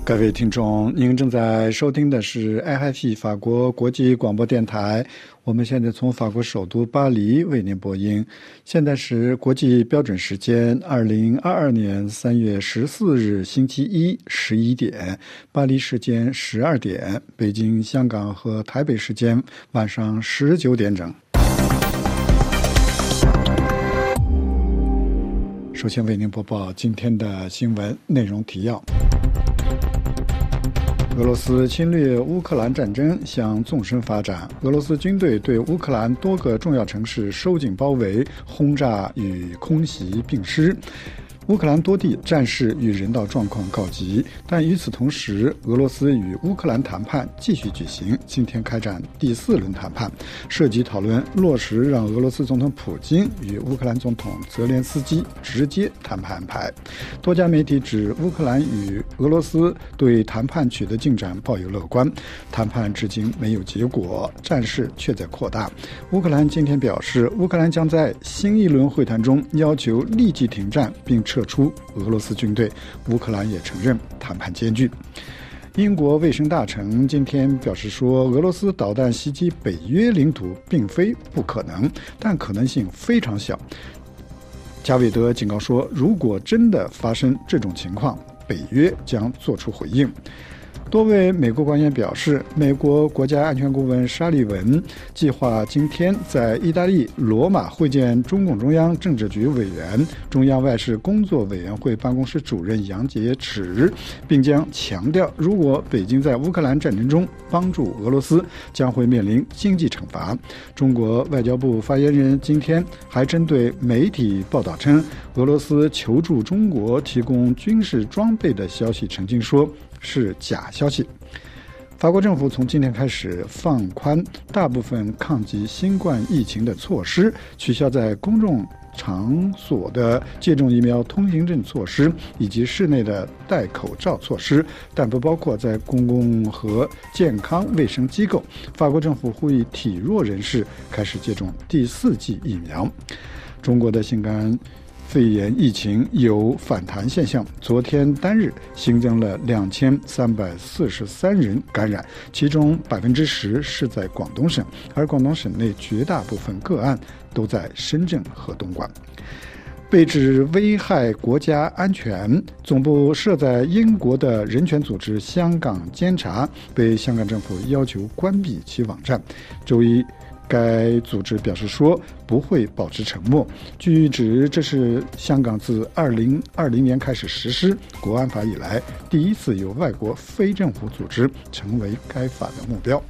各位听众，您正在收听的是 RFI 法国国际广播电台，我们现在从法国首都巴黎为您播音。现在是国际标准时间2022年3月14日星期一11点，巴黎时间12点，北京、香港和台北时间晚上19点整。首先为您播报今天的新闻内容提要。俄罗斯侵略乌克兰战争向纵深发展，俄罗斯军队对乌克兰多个重要城市收紧包围、轰炸与空袭并施。乌克兰多地战事与人道状况告急，但与此同时，俄罗斯与乌克兰谈判继续举行，今天开展第4轮谈判，涉及讨论落实让俄罗斯总统普京与乌克兰总统泽连斯基直接谈判安排。多家媒体指乌克兰与俄罗斯对谈判取得进展抱有乐观，谈判至今没有结果，战事却在扩大。乌克兰今天表示，乌克兰将在新一轮会谈中要求立即停战并撤出俄罗斯军队，乌克兰也承认谈判艰巨。英国卫生大臣今天表示说，俄罗斯导弹袭击北约领土并非不可能，但可能性非常小。加韦德警告说，如果真的发生这种情况，北约将做出回应。多位美国官员表示，美国国家安全顾问沙利文计划今天在意大利罗马会见中共中央政治局委员、中央外事工作委员会办公室主任杨洁篪，并将强调，如果北京在乌克兰战争中帮助俄罗斯，将会面临经济惩罚。中国外交部发言人今天还针对媒体报道称俄罗斯求助中国提供军事装备的消息澄清说是假消息。法国政府从今天开始放宽大部分抗击新冠疫情的措施，取消在公众场所的接种疫苗通行证措施以及室内的戴口罩措施，但不包括在公共和健康卫生机构。法国政府呼吁体弱人士开始接种第4剂疫苗。中国的新冠肺炎疫情有反弹现象，昨天单日新增了2343人感染，其中10%是在广东省，而广东省内绝大部分个案都在深圳和东莞。被指危害国家安全，总部设在英国的人权组织香港监察被香港政府要求关闭其网站。周一该组织表示说不会保持沉默。据指，这是香港自2020年开始实施国安法以来第一次有外国非政府组织成为该法的目标。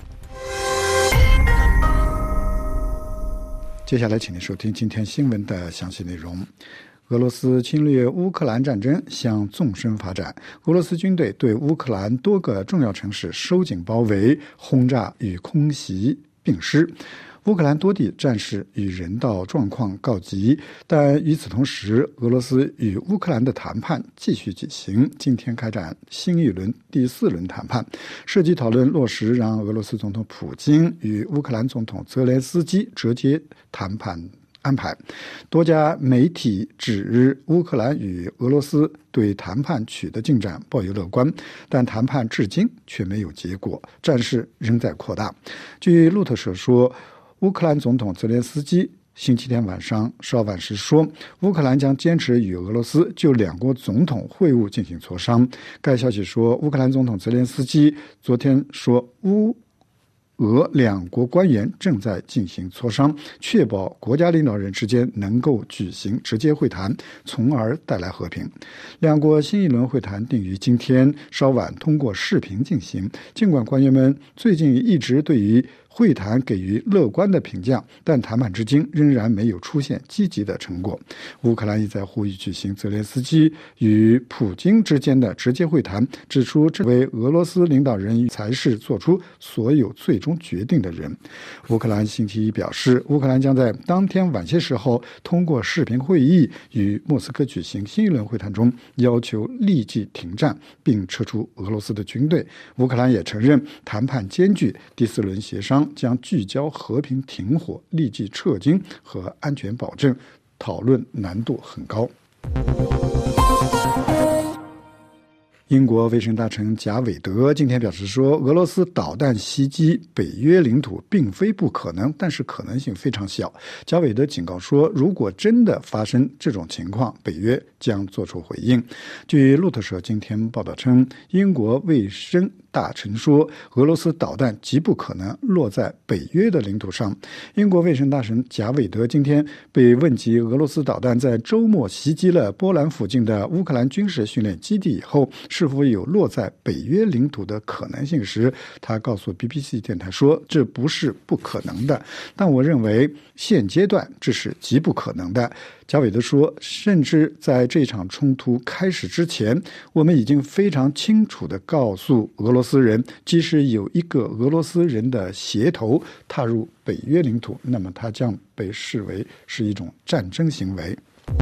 接下来请您收听今天新闻的详细内容。俄罗斯侵略乌克兰战争向纵深发展，俄罗斯军队对乌克兰多个重要城市收紧包围、轰炸与空袭并施。乌克兰多地战事与人道状况告急，但与此同时，俄罗斯与乌克兰的谈判继续进行，今天开展新一轮第4轮谈判，涉及讨论落实让俄罗斯总统普京与乌克兰总统泽连斯基直接谈判安排。多家媒体指乌克兰与俄罗斯对谈判取得进展抱有乐观，但谈判至今却没有结果，战事仍在扩大。据路透社说，乌克兰总统泽连斯基星期天晚上稍晚时说，乌克兰将坚持与俄罗斯就两国总统会晤进行磋商。该消息说，乌克兰总统泽连斯基昨天说，俄两国官员正在进行磋商，确保国家领导人之间能够举行直接会谈，从而带来和平。两国新一轮会谈定于今天稍晚通过视频进行，尽管官员们最近一直对于会谈给予乐观的评价，但谈判至今仍然没有出现积极的成果。乌克兰一再呼吁举行泽连斯基与普京之间的直接会谈，指出这位俄罗斯领导人才是做出所有最终决定的人。乌克兰星期一表示，乌克兰将在当天晚些时候通过视频会议与莫斯科举行新一轮会谈中，要求立即停战并撤出俄罗斯的军队。乌克兰也承认谈判艰巨，第4轮协商将聚焦和平停火、立即撤军和安全保证，讨论难度很高。 英国卫生大臣贾韦德今天表示说，俄罗斯导弹袭击北约领土并非不可能，但是可能性非常小。贾韦德警告说，如果真的发生这种情况，北约将做出回应。据路透社今天报道称，英国卫生大臣说，俄罗斯导弹极不可能落在北约的领土上。英国卫生大臣贾韦德今天被问及俄罗斯导弹在周末袭击了波兰附近的乌克兰军事训练基地以后，是否有落在北约领土的可能性时，他告诉 BBC 电台说，这不是不可能的，但我认为现阶段这是极不可能的。贾韦德说，甚至在这场冲突开始之前，我们已经非常清楚地告诉俄罗斯人，即使有一个俄罗斯人的协同踏入北约领土，那么他将被视为是一种战争行为。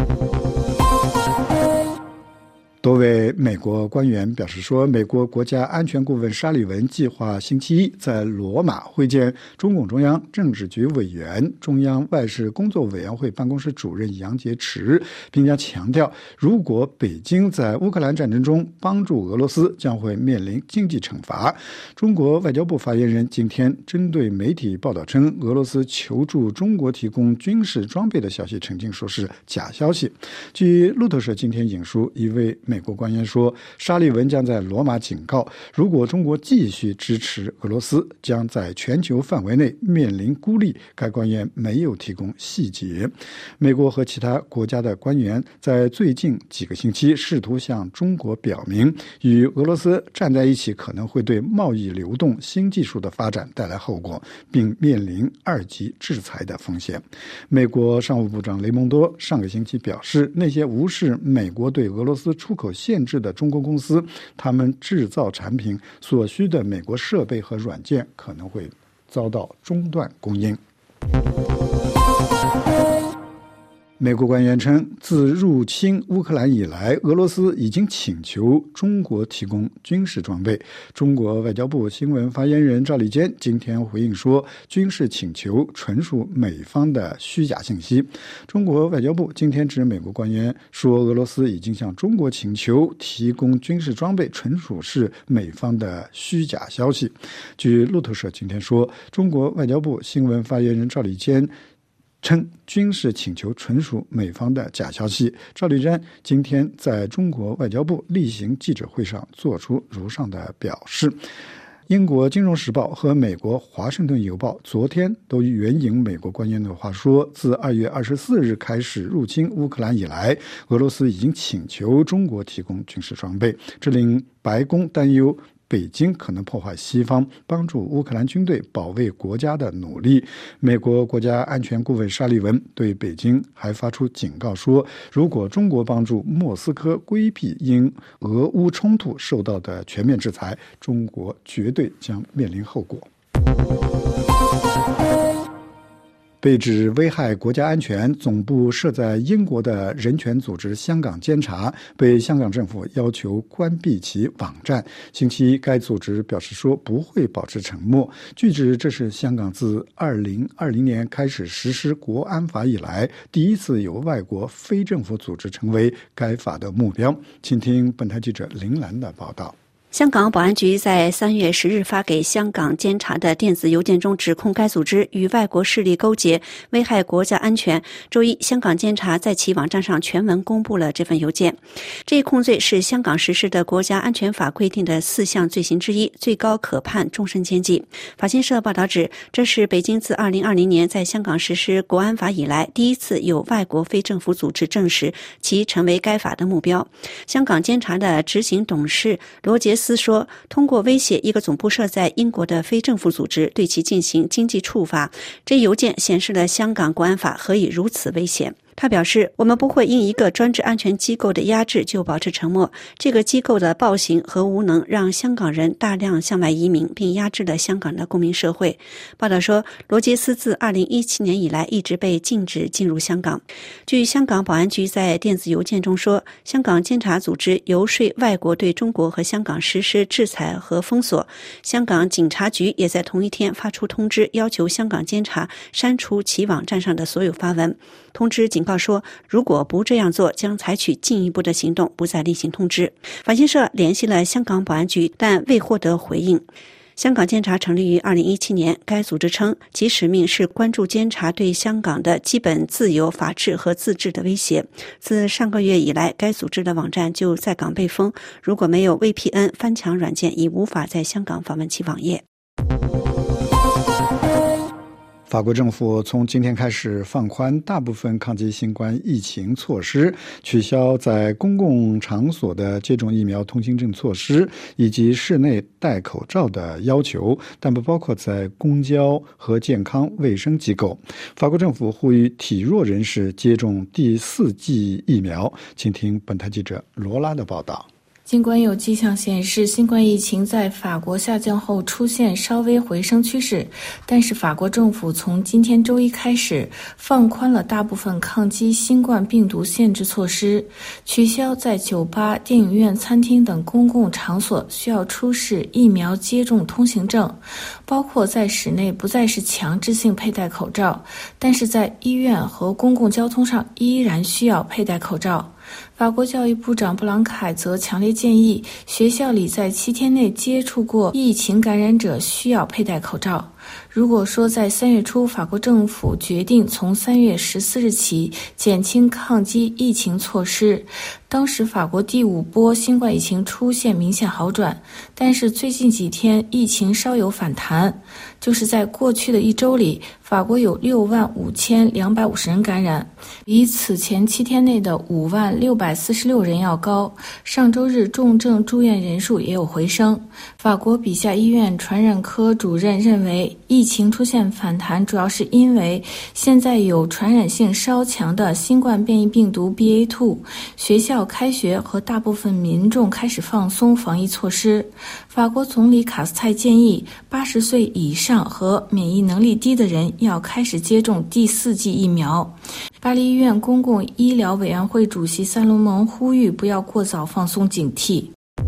多位美国官员表示说，美国国家安全顾问沙利文计划星期一在罗马会见中共中央政治局委员、中央外事工作委员会办公室主任杨洁篪，并将强调，如果北京在乌克兰战争中帮助俄罗斯，将会面临经济惩罚。中国外交部发言人今天针对媒体报道称俄罗斯求助中国提供军事装备的消息澄清说是假消息。据路透社今天引述一位美国官员说，沙利文将在罗马警告，如果中国继续支持俄罗斯，将在全球范围内面临孤立。该官员没有提供细节。美国和其他国家的官员在最近几个星期试图向中国表明，与俄罗斯站在一起可能会对贸易流动、新技术的发展带来后果，并面临2级制裁的风险。美国商务部长雷蒙多上个星期表示，那些无视美国对俄罗斯出口限制的中国公司，他们制造产品所需的美国设备和软件可能会遭到中断供应。美国官员称，自入侵乌克兰以来，俄罗斯已经请求中国提供军事装备。中国外交部新闻发言人赵立坚今天回应说，军事请求纯属美方的虚假信息。中国外交部今天指美国官员说，俄罗斯已经向中国请求提供军事装备，纯属是美方的虚假消息。据路透社今天说，中国外交部新闻发言人赵立坚称军事请求纯属美方的假消息。赵立坚今天在中国外交部例行记者会上做出如上的表示。英国金融时报和美国华盛顿邮报昨天都援引美国官员的话说，自2月24日开始入侵乌克兰以来，俄罗斯已经请求中国提供军事装备，这令白宫担忧北京可能破坏西方帮助乌克兰军队保卫国家的努力。美国国家安全顾问沙利文对北京还发出警告说，如果中国帮助莫斯科规避因俄乌冲突受到的全面制裁，中国绝对将面临后果。被指危害国家安全、总部设在英国的人权组织香港监察被香港政府要求关闭其网站。星期一，该组织表示说不会保持沉默。据指，这是香港自2020年开始实施国安法以来第一次有外国非政府组织成为该法的目标。请听本台记者林兰的报道。 香港保安局在3月10日发给香港监察的电子邮件中指控该组织与外国势力勾结，危害国家安全。周一，香港监察在其网站上全文公布了这份邮件。这一控罪是香港实施的国家安全法规定的4项罪行之一，最高可判终身监禁。法新社报道指，这是北京自2020年在香港实施国安法以来第一次有外国非政府组织证实其成为该法的目标。香港监察的执行董事罗杰斯说，通过威胁一个总部设在英国的非政府组织，对其进行经济处罚。这邮件显示了香港国安法何以如此危险。他表示，我们不会因一个专制安全机构的压制就保持沉默。这个机构的暴行和无能让香港人大量向外移民，并压制了香港的公民社会。报道说，罗杰斯自2017年以来一直被禁止进入香港。据香港保安局在电子邮件中说，香港监察组织游说外国对中国和香港实施制裁和封锁。香港警察局也在同一天发出通知，要求香港监察删除其网站上的所有发文。通知警警告说，如果不这样做，将采取进一步的行动，不再例行通知。法新社联系了香港保安局，但未获得回应。香港监察成立于2017年，该组织称其使命是关注监察对香港的基本自由、法治和自治的威胁。自上个月以来，该组织的网站就在港被封，如果没有 VPN 翻墙软件，已无法在香港访问其网页。 法国政府从今天开始放宽大部分抗击新冠疫情措施，取消在公共场所的接种疫苗通行证措施，以及室内戴口罩的要求，但不包括在公交和健康卫生机构。法国政府呼吁体弱人士接种第4剂疫苗。请听本台记者罗拉的报道。 尽管有迹象显示新冠疫情在法国下降后出现稍微回升趋势，但是法国政府从今天周一开始放宽了大部分抗击新冠病毒限制措施，取消在酒吧、电影院、餐厅等公共场所需要出示疫苗接种通行证，包括在室内不再是强制性佩戴口罩，但是在医院和公共交通上依然需要佩戴口罩。法国教育部长布朗凯则强烈建议学校里在7天内接触过疫情感染者需要佩戴口罩。如果说在3月初法国政府决定从3月14日起减轻抗击疫情措施，当时法国第5波新冠疫情出现明显好转，但是最近几天疫情稍有反弹，就是在过去的1周里，法国有65250人感染，比此前7天内的56646人要高。上周日重症住院人数也有回升。法国比夏医院传染科主任认为，疫情出现反弹主要是因为现在有传染性稍强的新冠变异病毒 BA.2， 学校开学和大部分民众开始放松防疫措施。法国总理卡斯泰建议80岁以上和免疫能力低的人要开始接种第4剂疫苗。巴黎医院公共医疗委员会主席萨洛蒙呼吁不要过早放松警惕。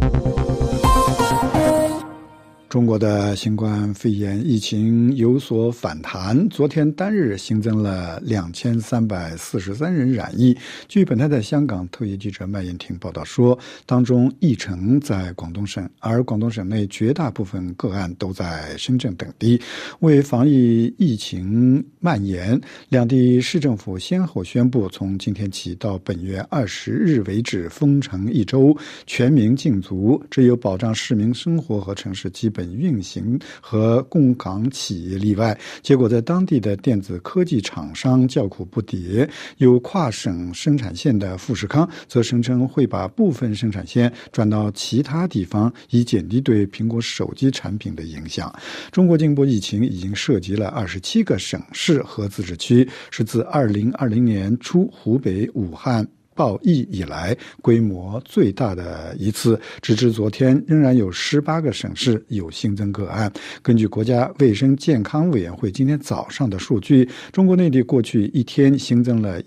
中国的新冠肺炎疫情有所反弹，昨天单日新增了2343人染疫。据本台的香港特约记者麦燕婷报道说，当中1成在广东省，而广东省内绝大部分个案都在深圳等地。为防疫疫情蔓延，两地市政府先后宣布，从今天起到本月20日为止封城1周，全民禁足，只有保障市民生活和城市基本运行和供港企业例外。结果在当地的电子科技厂商叫苦不迭，有跨省生产线的富士康则声称会把部分生产线转到其他地方，以减低对苹果手机产品的影响。中国这波疫情已经涉及了27个省市和自治区，是自2020年初湖北武汉爆疫以来规模最大的一次，直至昨天仍然有18个省市有新增个案。根据国家卫生健康委员会今天早上的数据，中国内地过去1天新增了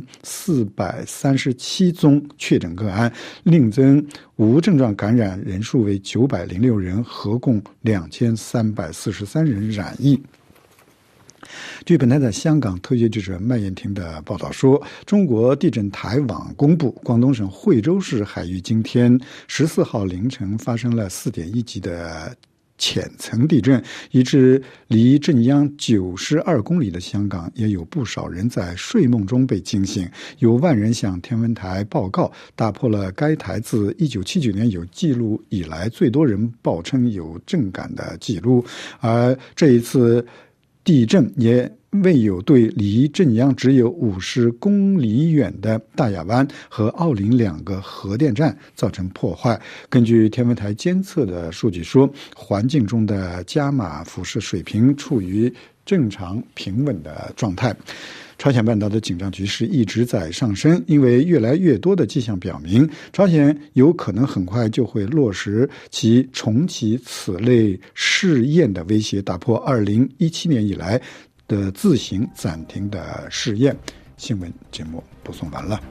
1437宗确诊个案，另增无症状感染人数为906人，合共2343人染疫。据本台的香港特约记者麦燕婷的报道说，中国地震台网公布，广东省惠州市海域今天14号凌晨发生了4.1级的浅层地震，以致离震央92公里的香港也有不少人在睡梦中被惊醒。有万人向天文台报告，打破了该台自1979年有记录以来最多人报称有震感的记录。而这一次地震也未有对离震央只有50公里远的大亚湾和奥林2个核电站造成破坏。根据天文台监测的数据说，环境中的伽马辐射水平处于正常平稳的状态。朝鲜半岛的紧张局势一直在上升，因为越来越多的迹象表明，朝鲜有可能很快就会落实其重启此类试验的威胁，打破2017年以来的自行暂停的试验。新闻节目播送完了。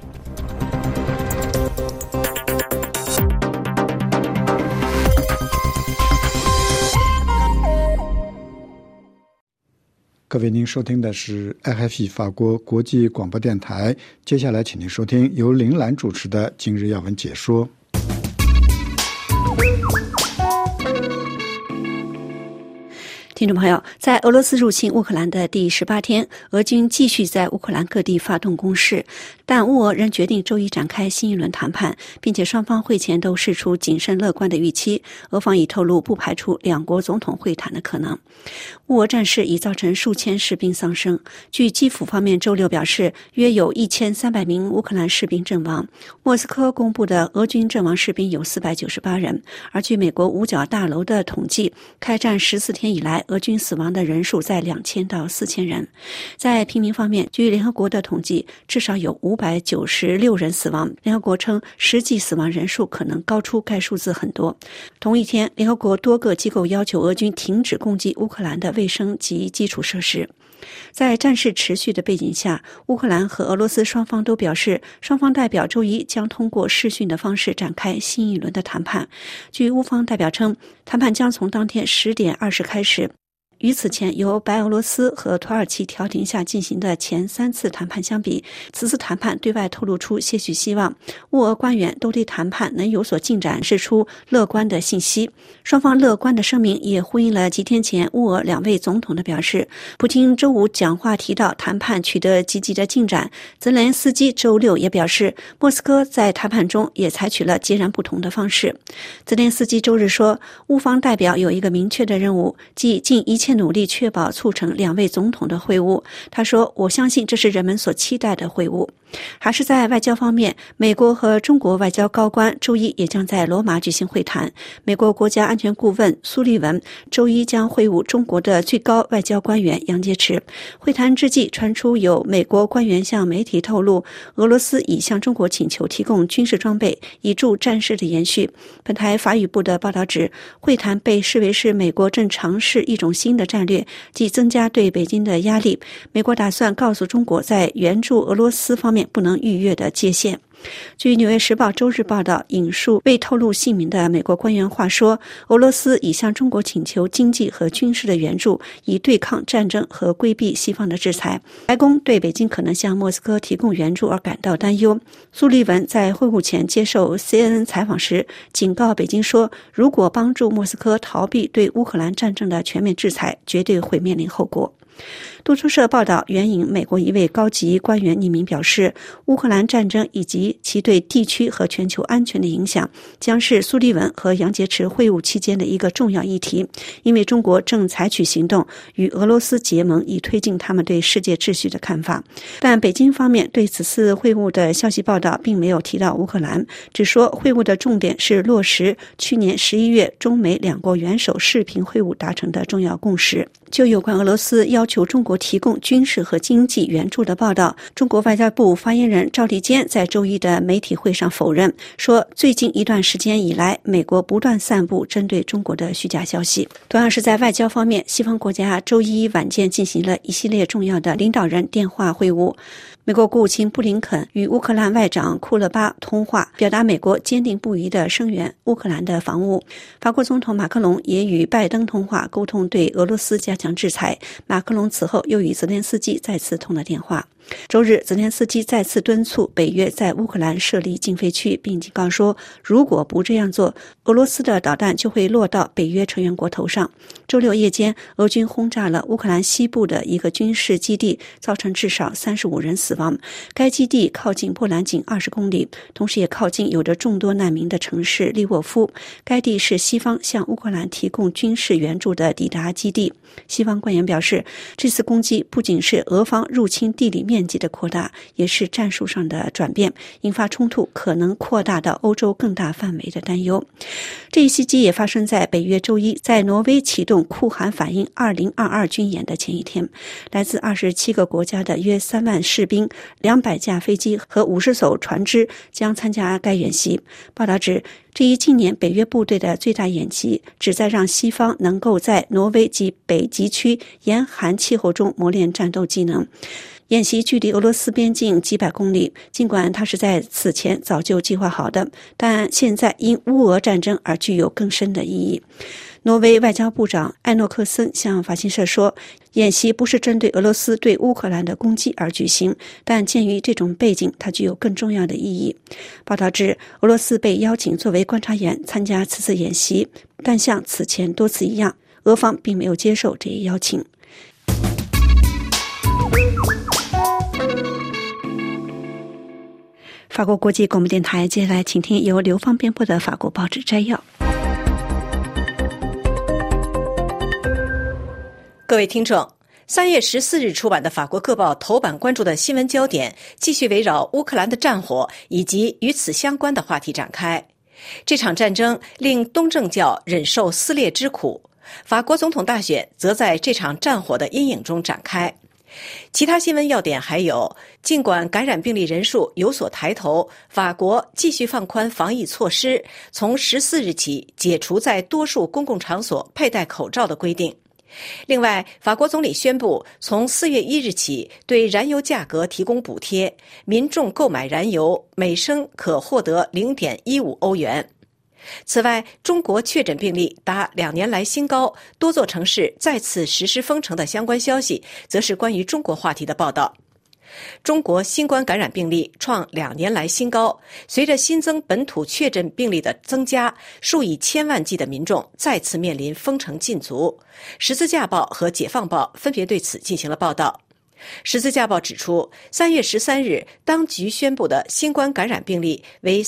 各位，您收听的是 RFI 法国国际广播电台。接下来，请您收听由林兰主持的今日要闻解说。 听众朋友，在俄罗斯入侵乌克兰的第18天，俄军继续在乌克兰各地发动攻势，但乌俄仍决定周一展开新一轮谈判，并且双方会前都释出谨慎乐观的预期。俄方已透露不排除两国总统会谈的可能。乌俄战事已造成数千士兵丧生，据基辅方面周六表示，约有1300名乌克兰士兵阵亡。莫斯科公布的俄军阵亡士兵有498人，而据美国五角大楼的统计，开战14天以来，俄军死亡的人数在2000到4000人。在平民方面，据联合国的统计，至少有596人死亡。联合国称，实际死亡人数可能高出该数字很多。同一天，联合国多个机构要求俄军停止攻击乌克兰的卫生及基础设施。在战事持续的背景下，乌克兰和俄罗斯双方都表示，双方代表周一将通过视讯的方式展开新一轮的谈判。据乌方代表称，谈判将从当天10点20开始。与此前由白俄罗斯和土耳其调停下进行的前3次谈判相比，此次谈判对外透露出些许希望。乌俄官员都对谈判能有所进展释出乐观的信息。双方乐观的声明也呼应了几天前乌俄2位总统的表示。普京周五讲话提到谈判取得积极的进展，泽连斯基周六也表示，莫斯科在谈判中也采取了截然不同的方式。泽连斯基周日说，乌方代表有一个明确的任务，即尽一切努力确保促成2位总统的会晤。他说，我相信这是人们所期待的会晤。还是在外交方面，美国和中国外交高官周一也将在罗马举行会谈。美国国家安全顾问苏利文周一将会晤中国的最高外交官员杨洁篪。会谈之际，传出有美国官员向媒体透露，俄罗斯已向中国请求提供军事装备，以助战事的延续。本台法语部的报道指，会谈被视为是美国正尝试一种新的战略，即增加对北京的压力。美国打算告诉中国在援助俄罗斯方面不能逾越的界限。据《纽约时报》周日报道，引述未透露姓名的美国官员话说，俄罗斯已向中国请求经济和军事的援助，以对抗战争和规避西方的制裁。白宫对北京可能向莫斯科提供援助而感到担忧。苏利文在会晤前接受 CNN 采访时警告北京说，如果帮助莫斯科逃避对乌克兰战争的全面制裁，绝对会面临后果。路透社报道援引美国一位高级官员匿名表示，乌克兰战争以及其对地区和全球安全的影响将是苏利文和杨洁篪会晤期间的一个重要议题，因为中国正采取行动与俄罗斯结盟，以推进他们对世界秩序的看法。但北京方面对此次会晤的消息报道并没有提到乌克兰，只说会晤的重点是落实去年11月中美2国元首视频会晤达成的重要共识。就有关俄罗斯要求中国提供军事和经济援助的报道，中国外交部发言人赵立坚在周一的媒体会上否认，说最近一段时间以来，美国不断散布针对中国的虚假消息。同样是在外交方面，西方国家周一晚间进行了一系列重要的领导人电话会晤。美国国务卿布林肯与乌克兰外长库勒巴通话，表达美国坚定不移地声援乌克兰的防务。法国总统马克龙也与拜登通话，沟通对俄罗斯加强制裁。马克龙此后又与泽连斯基再次通了电话。周日，泽连斯基再次敦促北约在乌克兰设立禁飞区，并警告说，如果不这样做，俄罗斯的导弹就会落到北约成员国头上。周六夜间，俄军轰炸了乌克兰西部的一个军事基地，造成至少35人死亡。该基地靠近波兰仅20公里，同时也靠近有着众多难民的城市利沃夫。该地是西方向乌克兰提供军事援助的抵达基地。西方官员表示，这次攻击不仅是俄方入侵地理面积的扩大，也是战术上的转变，引发冲突可能扩大到欧洲更大范围的担忧。这一袭击也发生在北约周一在挪威启动酷寒反应2022军演的前一天。来自27个国家的约3万士兵、200架飞机和50艘船只将参加该演习。报道指，这一近年北约部队的最大演习旨在让西方能够在挪威及北极区严寒气候中磨练战斗技能。 演习距离俄罗斯边境几百公里，尽管它是在此前早就计划好的，但现在因乌俄战争而具有更深的意义。挪威外交部长艾诺克森向法新社说，演习不是针对俄罗斯对乌克兰的攻击而举行，但鉴于这种背景，它具有更重要的意义。报道指，俄罗斯被邀请作为观察员参加此次演习，但像此前多次一样，俄方并没有接受这一邀请。法国国际广播电台，接下来请听由刘芳编播的法国报纸摘要。 各位听众，3月14日出版的法国各报头版关注的新闻焦点继续围绕乌克兰的战火以及与此相关的话题展开。这场战争令东正教忍受撕裂之苦，法国总统大选则在这场战火的阴影中展开。其他新闻要点还有，尽管感染病例人数有所抬头，法国继续放宽防疫措施，从14日起解除在多数公共场所佩戴口罩的规定。另外，法国总理宣布从4月1日起对燃油价格提供补贴，民众购买燃油每升可获得 0.15 欧元。此外，中国确诊病例达2年来新高，多座城市再次实施封城的相关消息，则是关于中国话题的报道。中国新冠感染病例创2年来新高，随着新增本土确诊病例的增加，数以千万计的民众再次面临封城禁足。十字架报和解放报分别对此进行了报道。十字架报指出，3月13日当局宣布的新冠感染病例为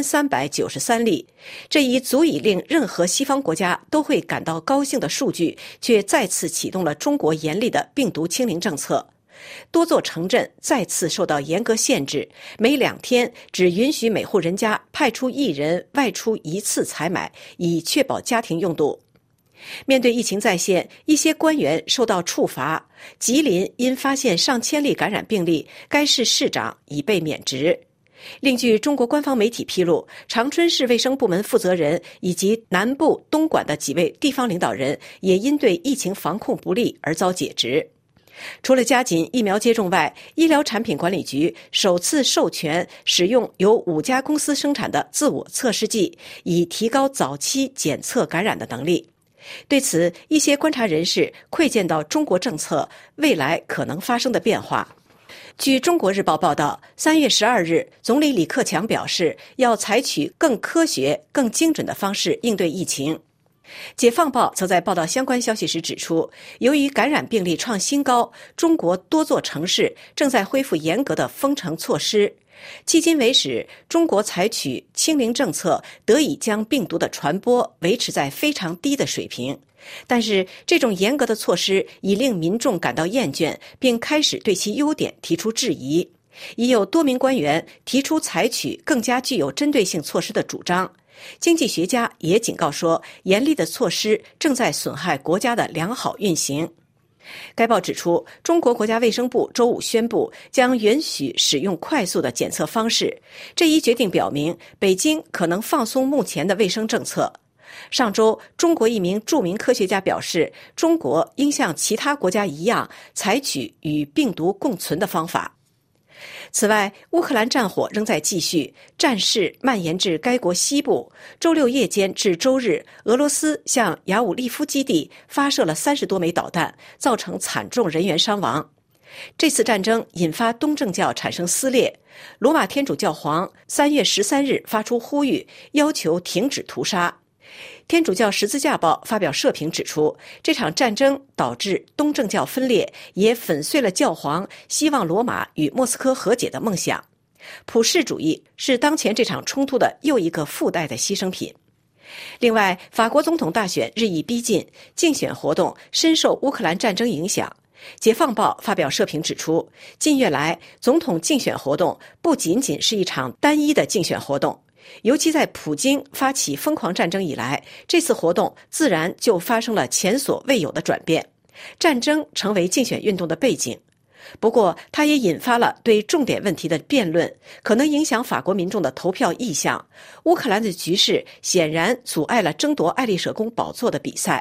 3393例，这一足以令任何西方国家都会感到高兴的数据，却再次启动了中国严厉的病毒清零政策。多座城镇再次受到严格限制，每2天只允许每户人家派出1人外出1次采买，以确保家庭用度。面对疫情再现，一些官员受到处罚。吉林因发现上千例感染病例，该市市长已被免职。另据中国官方媒体披露，长春市卫生部门负责人以及南部东莞的几位地方领导人也因对疫情防控不力而遭解职。除了加紧疫苗接种外，医疗产品管理局首次授权使用由5家公司生产的自我测试剂，以提高早期检测感染的能力。对此，一些观察人士窥见到中国政策未来可能发生的变化。据中国日报报道，3月12日，总理李克强表示要采取更科学、更精准的方式应对疫情。解放报则在报道相关消息时指出，由于感染病例创新高，中国多座城市正在恢复严格的封城措施。迄今为止，中国采取清零政策，得以将病毒的传播维持在非常低的水平。但是，这种严格的措施已令民众感到厌倦，并开始对其优点提出质疑。已有多名官员提出采取更加具有针对性措施的主张。经济学家也警告说，严厉的措施正在损害国家的良好运行。该报指出，中国国家卫生部周五宣布将允许使用快速的检测方式。这一决定表明，北京可能放松目前的卫生政策。上周，中国一名著名科学家表示，中国应像其他国家一样，采取与病毒共存的方法。此外，乌克兰战火仍在继续，战事蔓延至该国西部。周六夜间至周日，俄罗斯向雅武利夫基地发射了30多枚导弹，造成惨重人员伤亡。这次战争引发东正教产生撕裂，罗马天主教皇3月13日发出呼吁，要求停止屠杀。天主教十字架报发表社评指出，这场战争导致东正教分裂，也粉碎了教皇希望罗马与莫斯科和解的梦想。普世主义是当前这场冲突的又一个附带的牺牲品。另外，法国总统大选日益逼近，竞选活动深受乌克兰战争影响。解放报发表社评指出，近月来总统竞选活动不仅仅是一场单一的竞选活动，尤其在普京发起疯狂战争以来，这次活动自然就发生了前所未有的转变。战争成为竞选运动的背景，不过它也引发了对重点问题的辩论，可能影响法国民众的投票意向。乌克兰的局势显然阻碍了争夺爱丽舍宫宝座的比赛。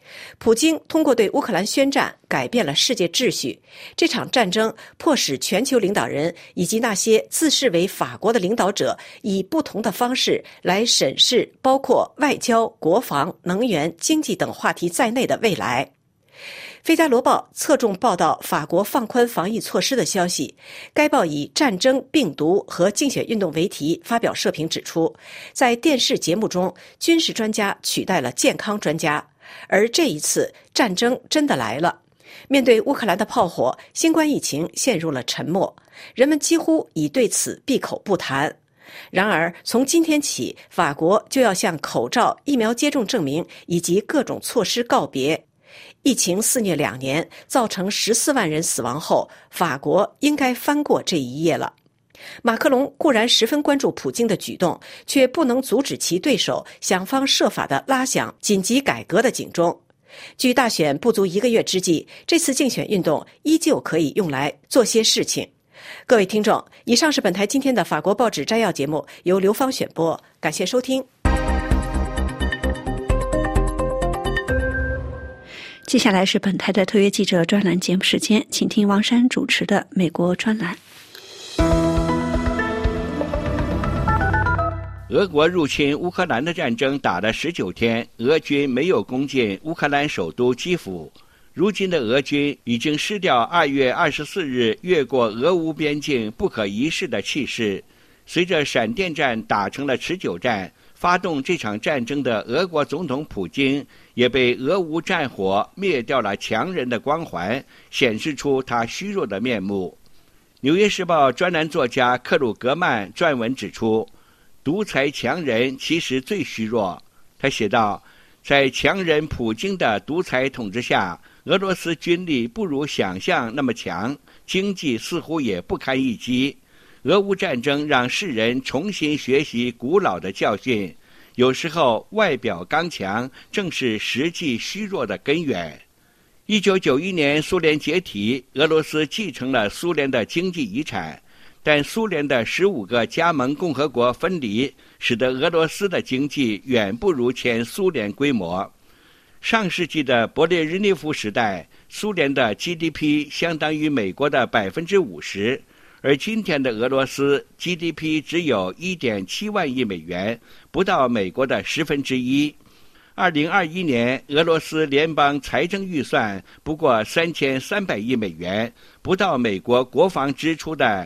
普京通过对乌克兰宣战，改变了世界秩序。这场战争迫使全球领导人以及那些自视为法国的领导者，以不同的方式来审视包括外交、国防、能源、经济等话题在内的未来。《费加罗报》侧重报道法国放宽防疫措施的消息。该报以战争、病毒和竞选运动为题发表社评指出，在电视节目中，军事专家取代了健康专家，而这一次战争真的来了。面对乌克兰的炮火，新冠疫情陷入了沉默，人们几乎已对此闭口不谈。然而，从今天起，法国就要向口罩、疫苗接种证明以及各种措施告别。疫情肆虐2年，造成14万人死亡后，法国应该翻过这一页了。马克龙固然十分关注普京的举动，却不能阻止其对手想方设法地拉响紧急改革的警钟。距大选不足1个月之际，这次竞选运动依旧可以用来做些事情。各位听众，以上是本台今天的法国报纸摘要节目，由刘芳选播，感谢收听。 接下来是本台的特约记者专栏节目时间，请听王珊主持的美国专栏。 俄国入侵乌克兰的战争打了19天，俄军没有攻进乌克兰首都基辅。如今的俄军已经失掉2月24日越过俄乌边境不可一世的气势。随着闪电战打成了持久战，发动这场战争的俄国总统普京也被俄乌战火灭掉了强人的光环，显示出他虚弱的面目。纽约时报专栏作家克鲁格曼撰文指出，独裁强人其实最虚弱。他写道，在强人普京的独裁统治下，俄罗斯军力不如想象那么强，经济似乎也不堪一击。俄乌战争让世人重新学习古老的教训，有时候外表刚强正是实际虚弱的根源。1991年苏联解体，俄罗斯继承了苏联的经济遗产，但苏联的15个加盟共和国分离，使得俄罗斯的经济远不如前苏联规模。上世纪的勃列日涅夫时代，苏联的 GDP 相当于美国的50%，而今天的俄罗斯 GDP 只有 1.7 万亿美元，不到美国的1/10。2021年，俄罗斯联邦财政预算不过3300亿美元，不到美国国防支出的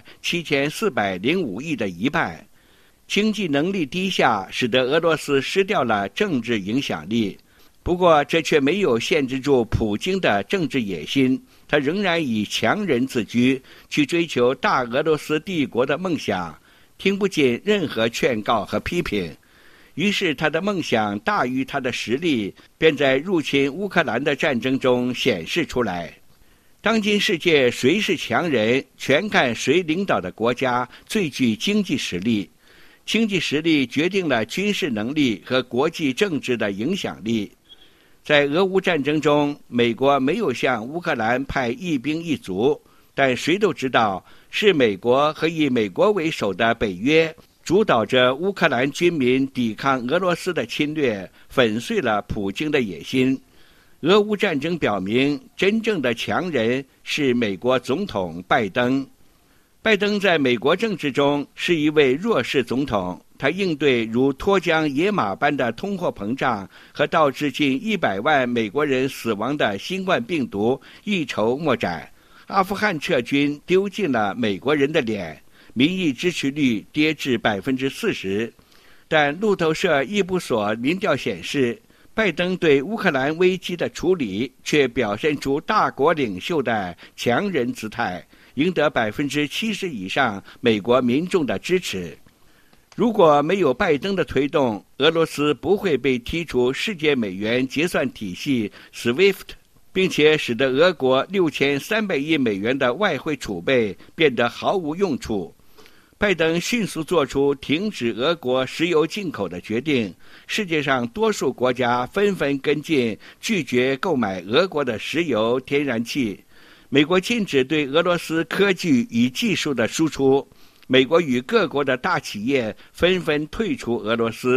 7405亿的一半。经济能力低下，使得俄罗斯失掉了政治影响力。不过，这却没有限制住普京的政治野心，他仍然以强人自居，去追求大俄罗斯帝国的梦想，听不进任何劝告和批评。于是他的梦想大于他的实力，便在入侵乌克兰的战争中显示出来。当今世界谁是强人，全看谁领导的国家最具经济实力。经济实力决定了军事能力和国际政治的影响力。在俄乌战争中，美国没有向乌克兰派一兵一卒，但谁都知道，是美国和以美国为首的北约主导着乌克兰军民抵抗俄罗斯的侵略，粉碎了普京的野心。俄乌战争表明，真正的强人是美国总统拜登。拜登在美国政治中是一位弱势总统，他应对如脱缰野马般的通货膨胀和导致近100万美国人死亡的新冠病毒一筹莫展。阿富汗撤军丢尽了美国人的脸，民意支持率跌至40%。但路透社伊布索民调显示，拜登对乌克兰危机的处理却表现出大国领袖的强人姿态，赢得70%以上美国民众的支持。如果没有拜登的推动，俄罗斯不会被踢出世界美元结算体系 SWIFT， 并且使得俄国6300亿美元的外汇储备变得毫无用处。拜登迅速做出停止俄国石油进口的决定，世界上多数国家纷纷跟进，拒绝购买俄国的石油、天然气。美国禁止对俄罗斯科技与技术的输出，美国与各国的大企业纷纷退出俄罗斯，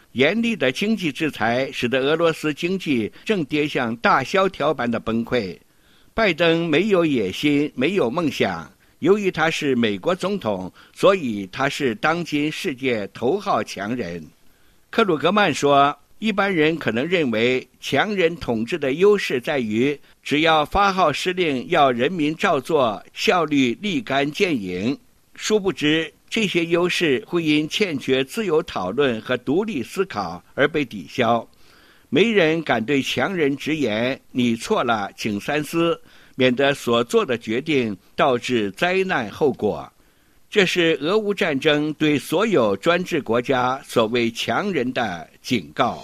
严厉的经济制裁使得俄罗斯经济正跌向大萧条般的崩溃。拜登没有野心，没有梦想。由于他是美国总统，所以他是当今世界头号强人。克鲁格曼说，一般人可能认为强人统治的优势在于只要发号施令要人民照做，效率立竿见影。殊不知这些优势会因欠缺自由讨论和独立思考而被抵消。没人敢对强人直言你错了，请三思，免得所做的决定导致灾难后果。这是俄乌战争对所有专制国家所谓强人的警告。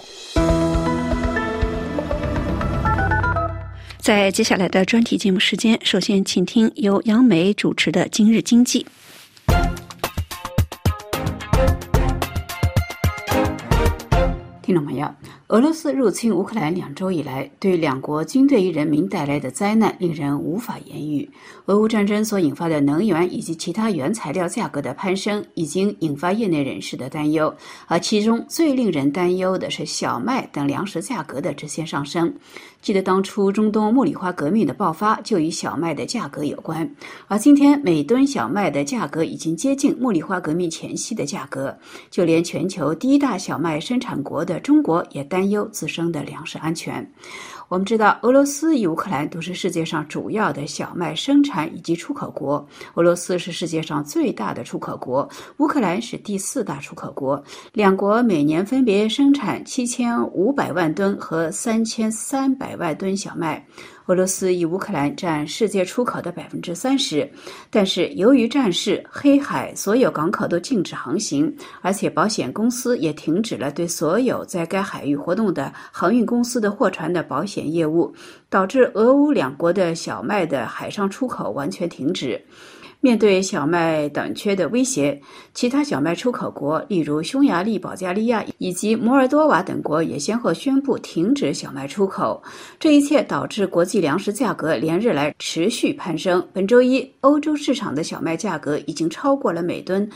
在接下来的专题节目时间，首先请听由杨梅主持的今日经济。 听众朋友，俄罗斯入侵乌克兰2周以来，对两国军队与人民带来的灾难令人无法言喻。俄乌战争所引发的能源以及其他原材料价格的攀升，已经引发业内人士的担忧，而其中最令人担忧的是小麦等粮食价格的直线上升。记得当初中东茉莉花革命的爆发就与小麦的价格有关，而今天每吨小麦的价格已经接近茉莉花革命前夕的价格，就连全球第一大小麦生产国的中国也担忧自身的粮食安全。我们知道，俄罗斯与乌克兰都是世界上主要的小麦生产以及出口国。俄罗斯是世界上最大的出口国，乌克兰是第4大出口国。两国每年分别生产7500万吨和3300万吨小麦。俄罗斯与乌克兰占世界出口的30%，但是由于战事，黑海所有港口都禁止航行，而且保险公司也停止了对所有在该海域活动的航运公司的货船的保险业务，导致俄乌两国的小麦的海上出口完全停止。面对小麦短缺的威胁，其他小麦出口国，例如匈牙利、保加利亚以及摩尔多瓦等国也先后宣布停止小麦出口。这一切导致国际粮食价格连日来持续攀升。本周一，欧洲市场的小麦价格已经超过了每吨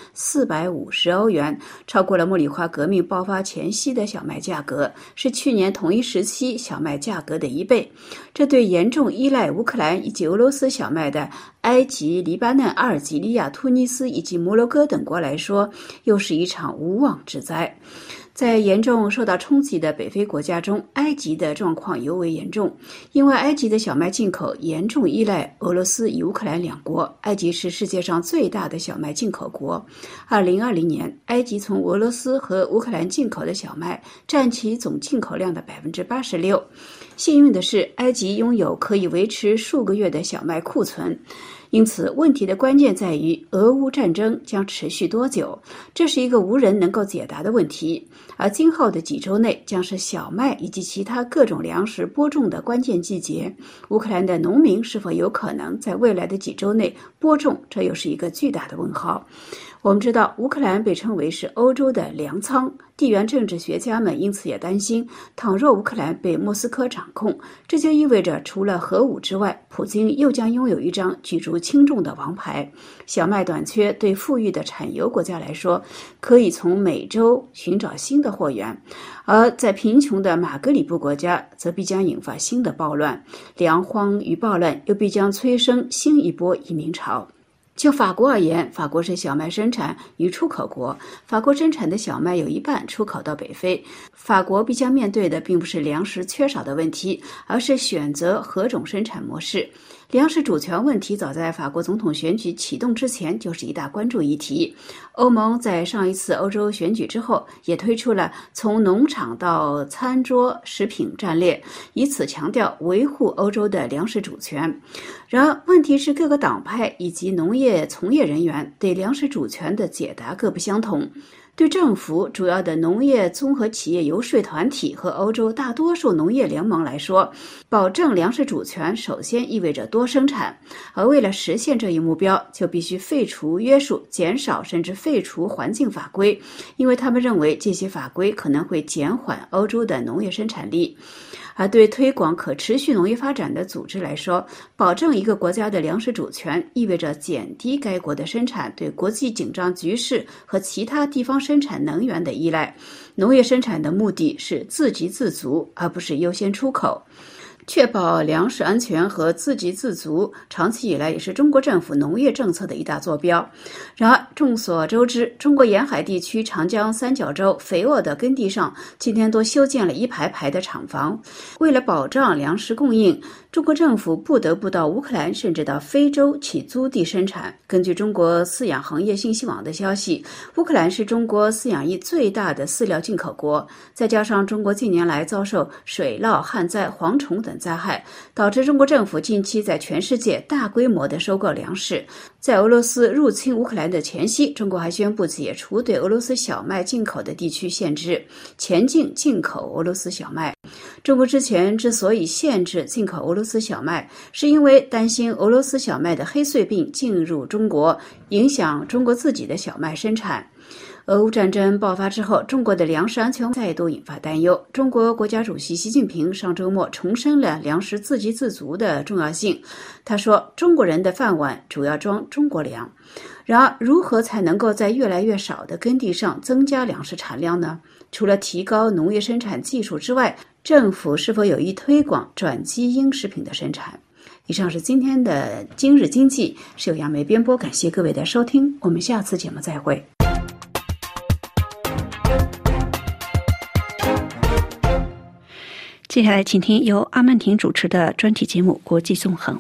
450欧元，超过了茉莉花革命爆发前夕的小麦价格，是去年同一时期小麦价格的1倍。这对严重依赖乌克兰以及俄罗斯小麦的埃及、黎巴嫩、阿尔及利亚、突尼斯以及摩洛哥等国来说，又是一场无妄之灾。在严重受到冲击的北非国家中，埃及的状况尤为严重，因为埃及的小麦进口严重依赖俄罗斯与乌克兰两国。埃及是世界上最大的小麦进口国。2020年，埃及从俄罗斯和乌克兰进口的小麦占其总进口量的86%。幸运的是，埃及拥有可以维持数个月的小麦库存。因此，问题的关键在于俄乌战争将持续多久，这是一个无人能够解答的问题。而今后的几周内将是小麦以及其他各种粮食播种的关键季节。乌克兰的农民是否有可能在未来的几周内播种，这又是一个巨大的问号。我们知道，乌克兰被称为是欧洲的粮仓，地缘政治学家们因此也担心，倘若乌克兰被莫斯科掌控，这就意味着除了核武之外，普京又将拥有一张举足轻重的王牌。小麦短缺对富裕的产油国家来说，可以从美洲寻找新的货源，而在贫穷的马格里布国家，则必将引发新的暴乱，粮荒与暴乱又必将催生新一波移民潮。就法国而言，法国是小麦生产与出口国，法国生产的小麦有一半出口到北非。法国必将面对的并不是粮食缺少的问题，而是选择何种生产模式。粮食主权问题早在法国总统选举启动之前就是一大关注议题。欧盟在上一次欧洲选举之后也推出了从农场到餐桌食品战略，以此强调维护欧洲的粮食主权。然而问题是，各个党派以及农业从业人员对粮食主权的解答各不相同。对政府、主要的农业综合企业游说团体和欧洲大多数农业联盟来说，保证粮食主权首先意味着多生产，而为了实现这一目标，就必须废除约束、减少甚至废除环境法规，因为他们认为这些法规可能会减缓欧洲的农业生产力。 而对推广可持续农业发展的组织来说，保证一个国家的粮食主权，意味着减低该国的生产对国际紧张局势和其他地方生产能源的依赖。农业生产的目的是自给自足，而不是优先出口。确保粮食安全和自给自足，长期以来也是中国政府农业政策的一大坐标。然而，众所周知，中国沿海地区长江三角洲肥沃的耕地上，今天都修建了一排排的厂房。为了保障粮食供应，中国政府不得不到乌克兰甚至到非洲起租地生产。根据中国饲养行业信息网的消息，乌克兰是中国饲养业最大的饲料进口国，再加上中国近年来遭受水涝、旱灾、蝗虫等灾害，导致中国政府近期在全世界大规模的收购粮食。在俄罗斯入侵乌克兰的前夕，中国还宣布解除对俄罗斯小麦进口的地区限制，前进进口俄罗斯小麦。中国之前之所以限制进口俄罗斯小麦，是因为担心俄罗斯小麦的黑穗病进入中国，影响中国自己的小麦生产。俄乌战争爆发之后，中国的粮食安全再度引发担忧。中国国家主席习近平上周末重申了粮食自给自足的重要性。他说，中国人的饭碗主要装中国粮。然而，如何才能够在越来越少的耕地上增加粮食产量呢？除了提高农业生产技术之外，政府是否有意推广转基因食品的生产？以上是今天的今日经济，是由杨梅编播，感谢各位的收听，我们下次节目再会。 接下来请听由阿曼婷主持的专题节目《国际纵横》。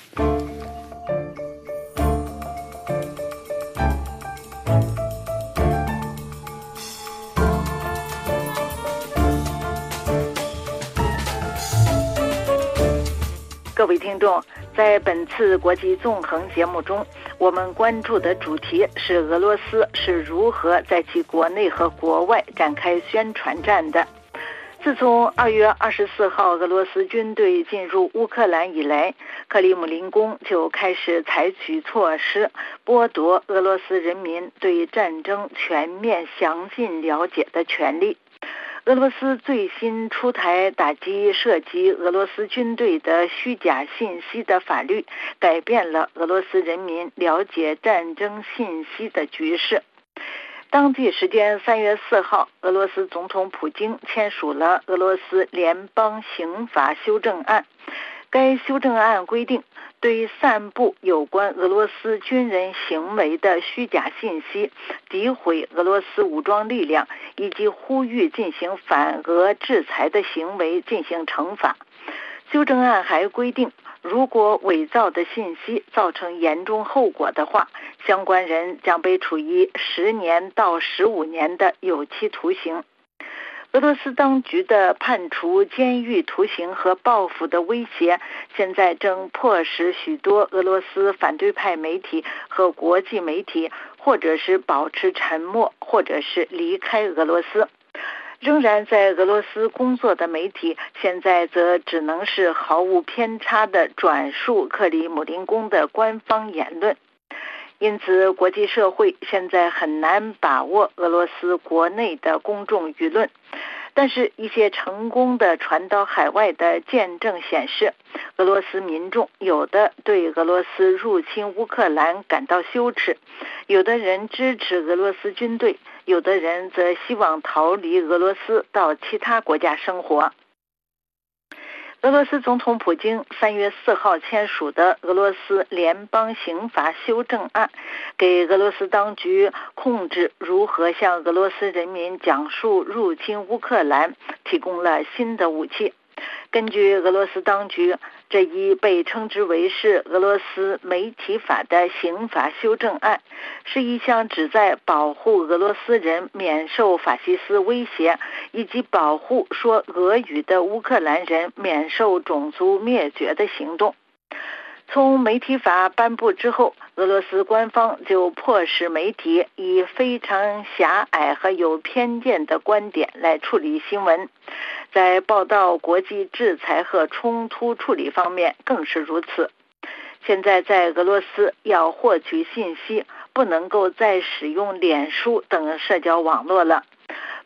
各位听众，在本次国际纵横节目中，我们关注的主题是俄罗斯是如何在其国内和国外展开宣传战的。自从2月24号俄罗斯军队进入乌克兰以来，克里姆林宫就开始采取措施，剥夺俄罗斯人民对战争全面详尽了解的权利。俄罗斯最新出台打击涉及俄罗斯军队的虚假信息的法律，改变了俄罗斯人民了解战争信息的局势。当地时间3月4号，俄罗斯总统普京签署了俄罗斯联邦刑法修正案。该修正案规定，对散布有关俄罗斯军人行为的虚假信息、诋毁俄罗斯武装力量以及呼吁进行反俄制裁的行为进行惩罚。修正案还规定，如果伪造的信息造成严重后果的话，相关人将被处以10年到15年的有期徒刑。俄罗斯当局的判处监狱徒刑和报复的威胁，现在正迫使许多俄罗斯反对派媒体和国际媒体，或者是保持沉默，或者是离开俄罗斯。仍然在俄罗斯工作的媒体，现在则只能是毫无偏差地转述克里姆林宫的官方言论。因此，国际社会现在很难把握俄罗斯国内的公众舆论。但是，一些成功的传到海外的见证显示，俄罗斯民众有的对俄罗斯入侵乌克兰感到羞耻，有的人支持俄罗斯军队，有的人则希望逃离俄罗斯到其他国家生活。俄罗斯总统普京3月4号签署的俄罗斯联邦刑法修正案，给俄罗斯当局控制如何向俄罗斯人民讲述入侵乌克兰提供了新的武器。根据俄罗斯当局，这一被称之为是俄罗斯媒体法的刑法修正案，是一项旨在保护俄罗斯人免受法西斯威胁，以及保护说俄语的乌克兰人免受种族灭绝的行动。从媒体法颁布之后，俄罗斯官方就迫使媒体以非常狭隘和有偏见的观点来处理新闻，在报道国际制裁和冲突处理方面更是如此。现在在俄罗斯要获取信息，不能够再使用脸书等社交网络了。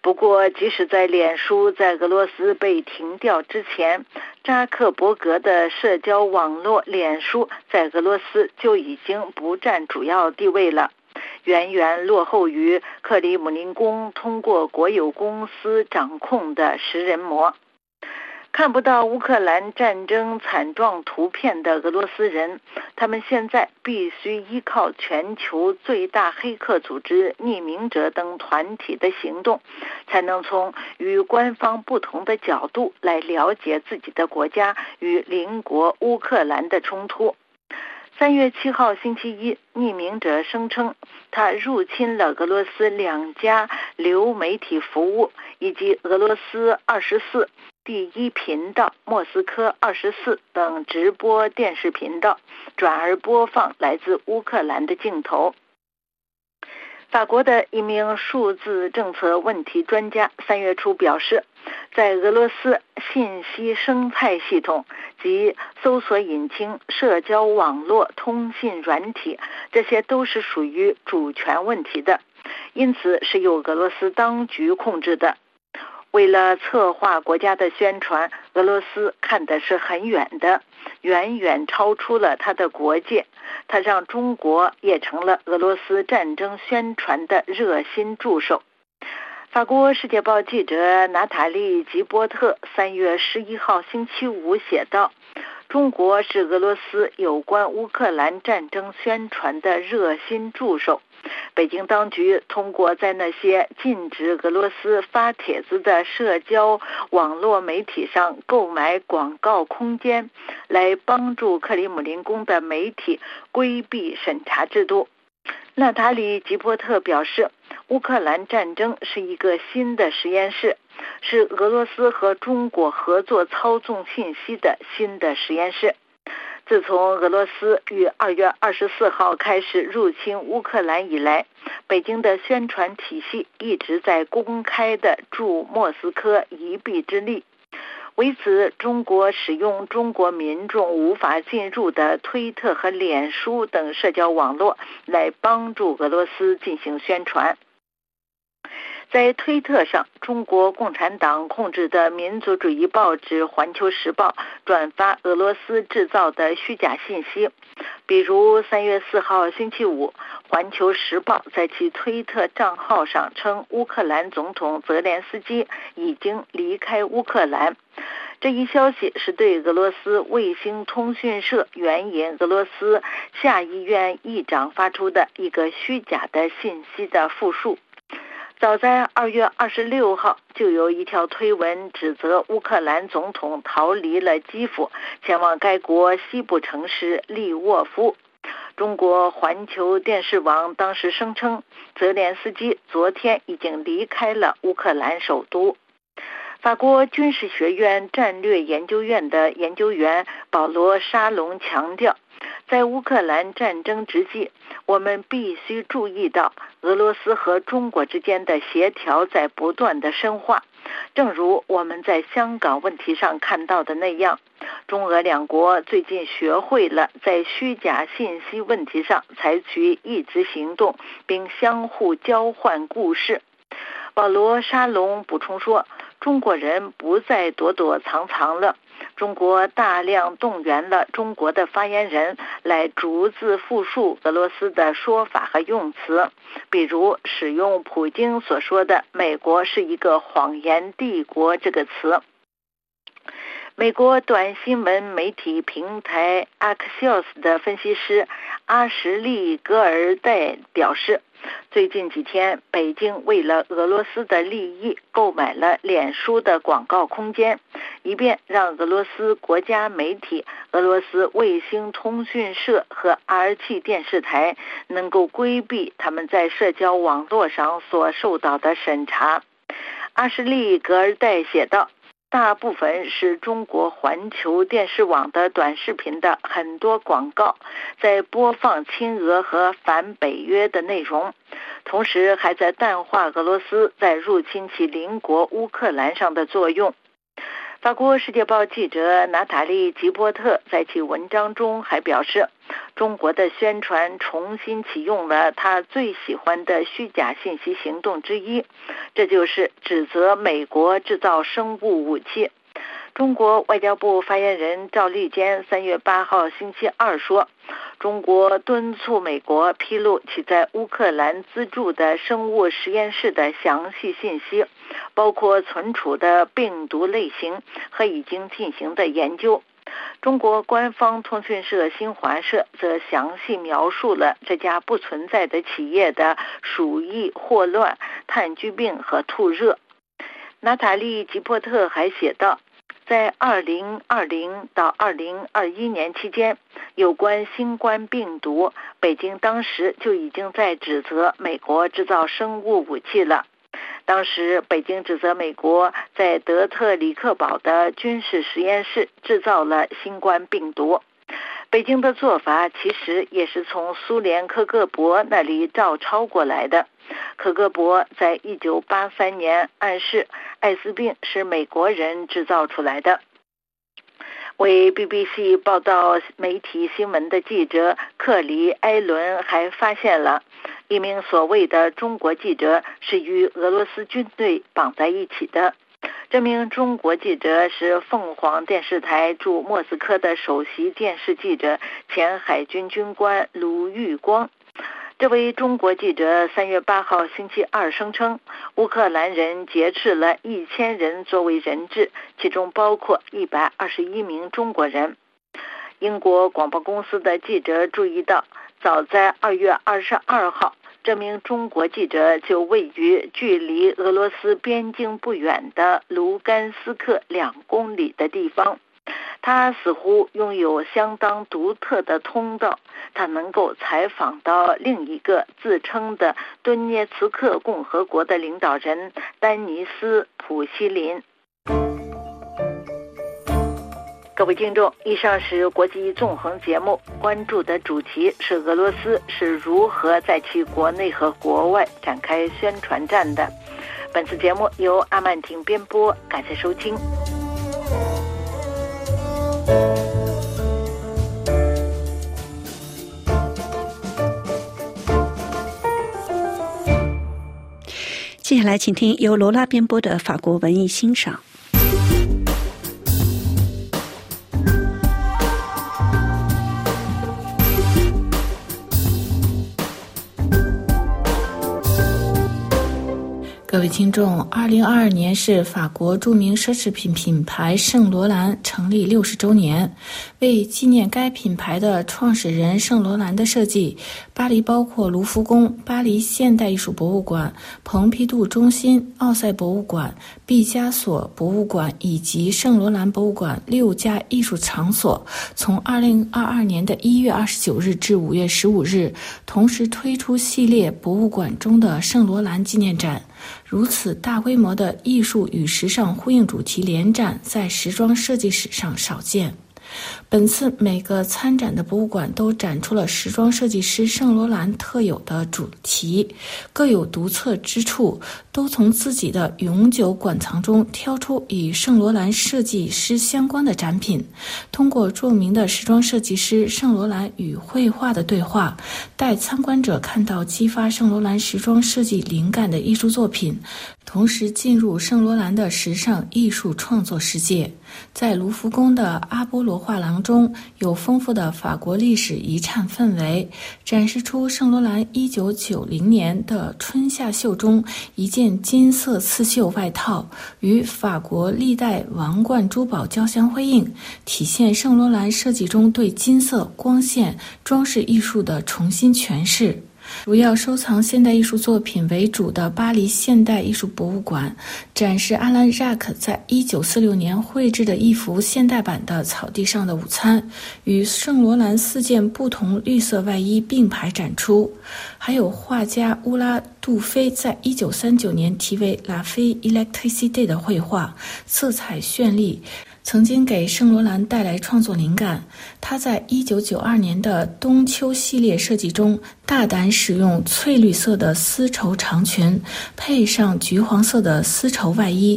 不过，即使在脸书在俄罗斯被停掉之前，扎克伯格的社交网络脸书在俄罗斯就已经不占主要地位了，远远落后于克里姆林宫通过国有公司掌控的食人魔。看不到乌克兰战争惨状图片的俄罗斯人，他们现在必须依靠全球最大黑客组织匿名者等团体的行动，才能从与官方不同的角度来了解自己的国家与邻国乌克兰的冲突。3月7号星期一，匿名者声称他入侵了俄罗斯2家流媒体服务以及俄罗斯24、第一频道、莫斯科24等直播电视频道，转而播放来自乌克兰的镜头。法国的一名数字政策问题专家3月初表示，在俄罗斯信息生态系统及搜索引擎、社交网络、通信软体，这些都是属于主权问题的，因此是由俄罗斯当局控制的。为了策划国家的宣传，俄罗斯看的是很远的，远远超出了它的国界。它让中国也成了俄罗斯战争宣传的热心助手。法国《世界报》记者娜塔莉·吉波特3月11号星期五写道，中国是俄罗斯有关乌克兰战争宣传的热心助手。北京当局通过在那些禁止俄罗斯发帖子的社交网络媒体上购买广告空间，来帮助克里姆林宫的媒体规避审查制度。娜塔莉·吉波特表示，乌克兰战争是一个新的实验室，是俄罗斯和中国合作操纵信息的新的实验室。自从俄罗斯于2月24号开始入侵乌克兰以来，北京的宣传体系一直在公开地助莫斯科一臂之力。为此，中国使用中国民众无法进入的推特和脸书等社交网络来帮助俄罗斯进行宣传。在推特上，中国共产党控制的民族主义报纸《环球时报》转发俄罗斯制造的虚假信息。比如3月4号星期五，《环球时报》在其推特账号上称乌克兰总统泽连斯基已经离开乌克兰。这一消息是对俄罗斯卫星通讯社援引俄罗斯下议院议长发出的一个虚假的信息的复述。早在2月26号，就有一条推文指责乌克兰总统逃离了基辅，前往该国西部城市利沃夫。中国环球电视网当时声称，泽连斯基昨天已经离开了乌克兰首都。法国军事学院战略研究院的研究员保罗·沙龙强调，在乌克兰战争之际，我们必须注意到俄罗斯和中国之间的协调在不断的深化。正如我们在香港问题上看到的那样，中俄两国最近学会了在虚假信息问题上采取一致行动，并相互交换故事。保罗·沙龙补充说，中国人不再躲躲藏藏了，中国大量动员了中国的发言人来逐字复述俄罗斯的说法和用词，比如使用普京所说的美国是一个谎言帝国这个词。美国短新闻媒体平台 Axios 的分析师阿什利·格尔代表示，最近几天，北京为了俄罗斯的利益购买了脸书的广告空间，以便让俄罗斯国家媒体、俄罗斯卫星通讯社和 RT 电视台能够规避他们在社交网络上所受到的审查。阿什利·格尔代写道，大部分是中国环球电视网的短视频的很多广告在播放亲俄和反北约的内容，同时还在淡化俄罗斯在入侵其邻国乌克兰上的作用。 法国《世界报》记者娜塔莉·吉波特在其文章中还表示，中国的宣传重新启用了他最喜欢的虚假信息行动之一，这就是指责美国制造生物武器。中国外交部发言人赵立坚3月8号星期二说，中国敦促美国披露其在乌克兰资助的生物实验室的详细信息，包括存储的病毒类型和已经进行的研究。中国官方通讯社新华社则详细描述了这家不存在的企业的鼠疫、霍乱、炭疽病和兔热。娜塔莉·吉波特还写道，在2020到2021年期间，有关新冠病毒，北京当时就已经在指责美国制造生物武器了。当时北京指责美国在德特里克堡的军事实验室制造了新冠病毒。北京的做法其实也是从苏联科格勃那里照抄过来的。科格勃在1983年暗示艾滋病是美国人制造出来的。为 BBC 报道媒体新闻的记者克里埃伦还发现了一名所谓的中国记者是与俄罗斯军队绑在一起的。这名中国记者是凤凰电视台驻莫斯科的首席电视记者，前海军军官卢玉光。这位中国记者3月8号星期二声称，乌克兰人劫持了1000人作为人质，其中包括121名中国人。英国广播公司的记者注意到，早在2月22号，这名中国记者就位于距离俄罗斯边境不远的卢甘斯克2公里的地方。他似乎拥有相当独特的通道，他能够采访到另一个自称的顿涅茨克共和国的领导人丹尼斯·普希林。各位听众，以上是国际纵横节目，关注的主题是俄罗斯是如何在其国内和国外展开宣传战的。本次节目由阿曼婷编播，感谢收听。 接下来请听由罗拉编播的法国文艺欣赏。 各位听众，2022年是法国著名奢侈品品牌圣罗兰成立60周年。为纪念该品牌的创始人圣罗兰的设计，巴黎包括卢浮宫、巴黎现代艺术博物馆、蓬皮杜中心、奥赛博物馆、毕加索博物馆以及圣罗兰博物馆6家艺术场所，从2022年的1月29日至5月15日，同时推出系列博物馆中的圣罗兰纪念展。如此大规模的艺术与时尚呼应主题联展，在时装设计史上少见。本次每个参展的博物馆都展出了时装设计师圣罗兰特有的主题，各有独特之处，都从自己的永久馆藏中挑出与圣罗兰设计师相关的展品，通过著名的时装设计师圣罗兰与绘画的对话，带参观者看到激发圣罗兰时装设计灵感的艺术作品，同时进入圣罗兰的时尚艺术创作世界。在卢浮宫的阿波罗画廊中，有丰富的法国历史遗产氛围，展示出圣罗兰1990年的春夏秀中一件金色刺绣外套，与法国历代王冠珠宝交相辉映，体现圣罗兰设计中对金色、光线、装饰艺术的重新诠释。主要收藏现代艺术作品为主的巴黎现代艺术博物馆，展示阿兰·扎克在1946年绘制的一幅现代版的草地上的午餐，与圣罗兰4件不同绿色外衣并排展出。还有画家乌拉·杜菲在1939年题为《La Fille Electricité》的绘画，色彩绚丽，曾经给圣罗兰带来创作灵感。他在1992年的冬秋系列设计中，大胆使用翠绿色的丝绸长裙，配上橘黄色的丝绸外衣，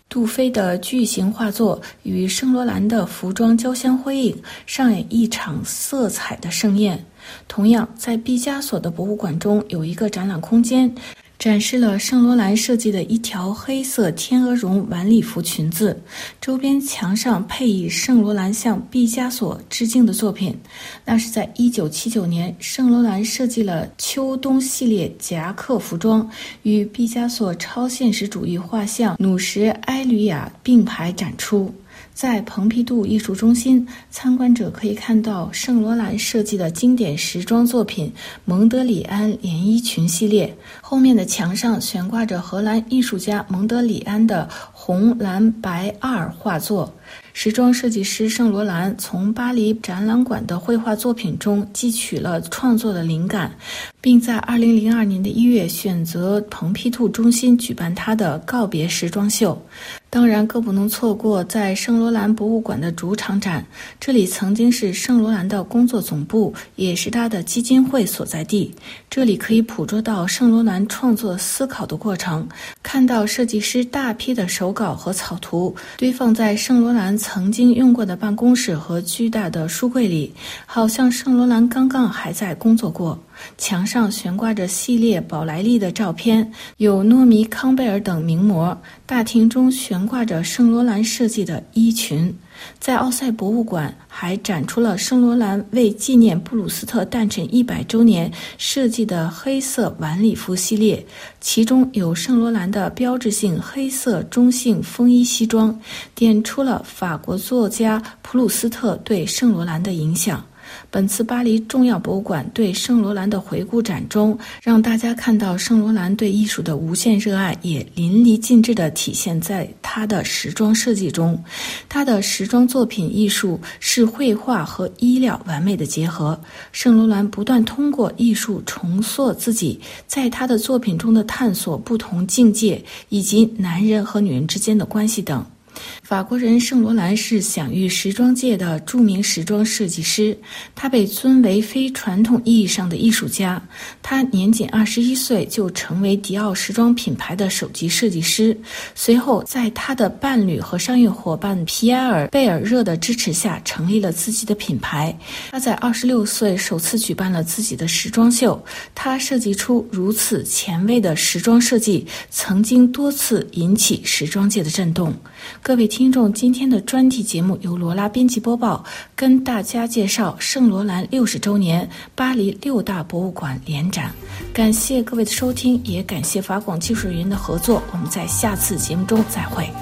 杜菲的巨型画作与圣罗兰的服装交相辉映，上演一场色彩的盛宴。同样，在毕加索的博物馆中有一个展览空间，展示了圣罗兰设计的一条黑色天鹅绒晚礼服裙子，周边墙上配以圣罗兰向毕加索致敬的作品。那是在1979年，圣罗兰设计了秋冬系列夹克服装，与毕加索超现实主义画像《努什埃吕亚》并排展出。在蓬皮杜艺术中心，参观者可以看到圣罗兰设计的经典时装作品蒙德里安连衣裙系列，后面的墙上悬挂着荷兰艺术家蒙德里安的红蓝白2画作。时装设计师圣罗兰从巴黎展览馆的绘画作品中汲取了创作的灵感，并在2002年的1月选择蓬皮杜中心举办他的告别时装秀。当然更不能错过在圣罗兰博物馆的主场展，这里曾经是圣罗兰的工作总部，也是他的基金会所在地。这里可以捕捉到圣罗兰创作思考的过程，看到设计师大批的手稿和草图堆放在圣罗兰曾经用过的办公室和巨大的书柜里，好像圣罗兰刚刚还在工作过。墙上悬挂着系列宝莱丽的照片，有诺米康贝尔等名模。大厅中悬挂着圣罗兰设计的衣裙。在奥赛博物馆还展出了圣罗兰为纪念布鲁斯特诞辰100周年设计的黑色晚礼服系列，其中有圣罗兰的标志性黑色中性风衣西装，点出了法国作家普鲁斯特对圣罗兰的影响。本次巴黎重要博物馆对圣罗兰的回顾展中，让大家看到圣罗兰对艺术的无限热爱也淋漓尽致地体现在他的时装设计中。他的时装作品艺术是绘画和衣料完美的结合。圣罗兰不断通过艺术重塑自己在他的作品中的探索不同境界，以及男人和女人之间的关系等。法国人圣罗兰是享誉时装界的著名时装设计师，他被尊为非传统意义上的艺术家。他年仅21岁就成为迪奥时装品牌的首席设计师，随后在他的伴侣和商业伙伴皮埃尔·贝尔热的支持下成立了自己的品牌。他在26岁首次举办了自己的时装秀，他设计出如此前卫的时装设计，曾经多次引起时装界的震动。各位听众，今天的专题节目由罗拉编辑播报，跟大家介绍圣罗兰60周年巴黎6大博物馆联展。感谢各位的收听，也感谢法广技术人员的合作。我们在下次节目中再会。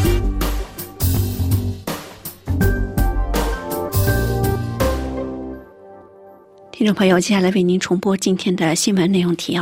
听众朋友，接下来为您重播今天的新闻内容提要。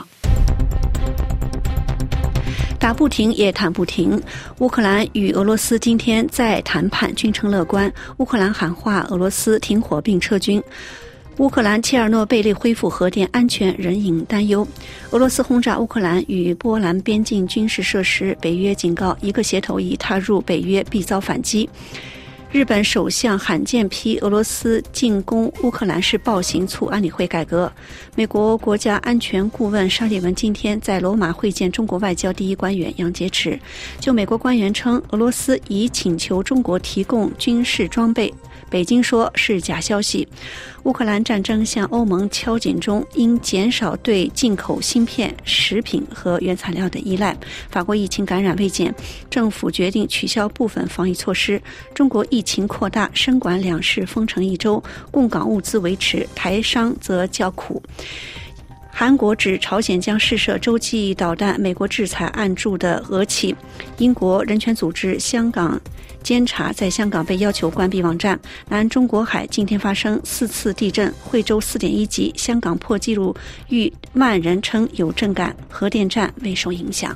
打不停也谈不停，乌克兰与俄罗斯今天再谈判，均称乐观。乌克兰喊话俄罗斯停火并撤军。乌克兰切尔诺贝利恢复核电安全仍引担忧。俄罗斯轰炸乌克兰与波兰边境军事设施，北约警告一个协同已踏入北约必遭反击。日本首相罕见批俄罗斯进攻乌克兰是暴行，促安理会改革。美国国家安全顾问沙利文今天在罗马会见中国外交第一官员杨洁篪，就美国官员称俄罗斯已请求中国提供军事装备，北京说是假消息。乌克兰战争向欧盟敲警钟，应减少对进口芯片、食品和原材料的依赖。法国疫情感染未减，政府决定取消部分防疫措施。中国疫情扩大，深管两市封城1周，供港物资维持，台商则较苦。韩国指朝鲜将试射洲际导弹，美国制裁按驻的俄企。英国人权组织香港监察在香港被要求关闭网站。南中国海今天发生4次地震，惠州4.1级，香港破纪录逾万人称有震感，核电站未受影响。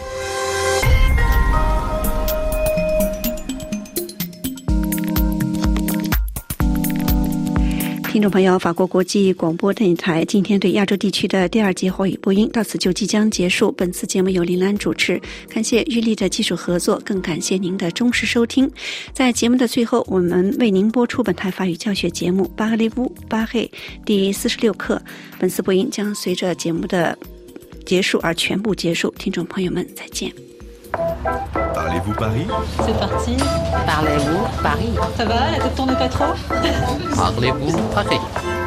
听众朋友，法国国际广播电台今天对亚洲地区的第2节华语播音到此就即将结束。本次节目由林兰主持，感谢玉丽的技术合作，更感谢您的忠实收听。在节目的最后，我们为您播出本台法语教学节目《巴赫利乌巴黑》第46课。本次播音将随着节目的结束而全部结束。听众朋友们，再见。 Parlez-vous Paris? C'est parti. Parlez-vous Paris? Ça va, la tête tourne pas trop? Parlez-vous Paris?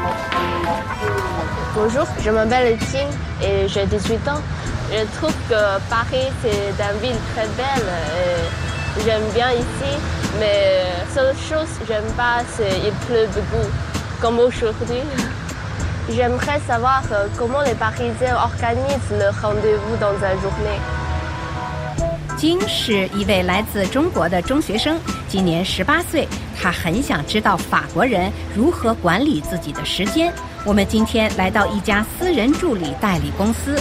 Bonjour, je m'appelle Ting et j'ai 18 ans. Je trouve que Paris, c'est une ville très belle. Et j'aime bien ici, mais seule chose que j'aime pas, c'est qu'il pleut beaucoup, comme aujourd'hui. J'aimerais savoir comment les Parisiens organisent le rendez-vous dans la journée. 金是一位来自中国的中学生，今年18岁，他很想知道法国人如何管理自己的时间。我们今天来到一家私人助理代理公司。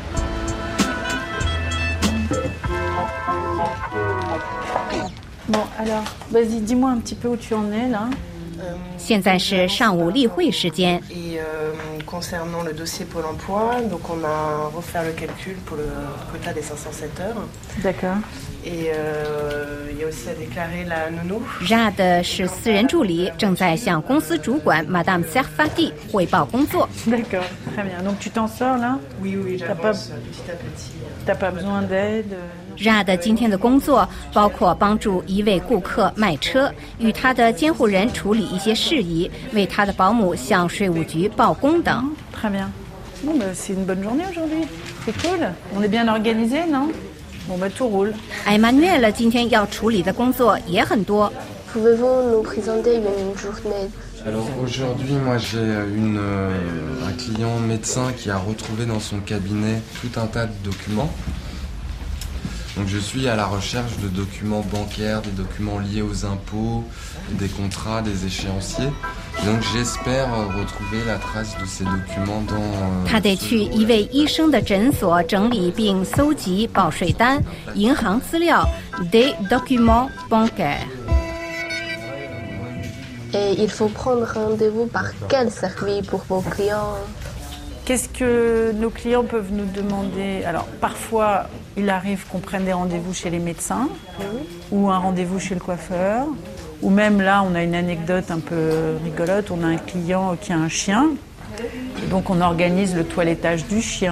Bon, alors, vas-y, dis-moi un petit peu où tu en es, là. 现在是上午例会时间。 Et concernant le dossier Pôle emploi, donc on a refait le calcul pour le quota des 507 heures. D'accord. Et il y a aussi à déclarer la nounou. Jade 是私人助理，正在向公司主管 Madame Serfati 汇报工作。 D'accord, très bien. Donc tu t'en sors là? Oui, j'avance petit à petit. T'as pas besoin d'aide? Jade 今天的工作包括帮助一位顾客卖车，与他的监护人处理一些事宜，为他的保姆向税务局报工等。 Très bien. Bon, bah, c'est une bonne journée aujourd'hui. C'est cool. On est bien organisé, non? Bon, bah, tout roule. Emmanuel 今天要处理的工作也很多。 Pouvez-vous nous présenter une journée? Alors aujourd'hui, moi j'ai un client médecin qui a retrouvé dans son cabinet tout un tas de documents. Donc je suis à la recherche de documents bancaires, des documents liés aux impôts, des contrats, des échéanciers. Donc j'espère retrouver la trace de ces documents dans... 他得去一位医生的诊所整理并搜集报税单、银行资料 des documents bancaires. Et il faut prendre rendez-vous par quel service pour vos clients? Qu'est-ce que nos clients peuvent nous demander? Alors, parfois, il arrive qu'on prenne des rendez-vous chez les médecins ou un rendez-vous chez le coiffeur. Ou même là, on a une anecdote un peu rigolote. On a un client qui a un chien. Et donc, on organise le toilettage du chien,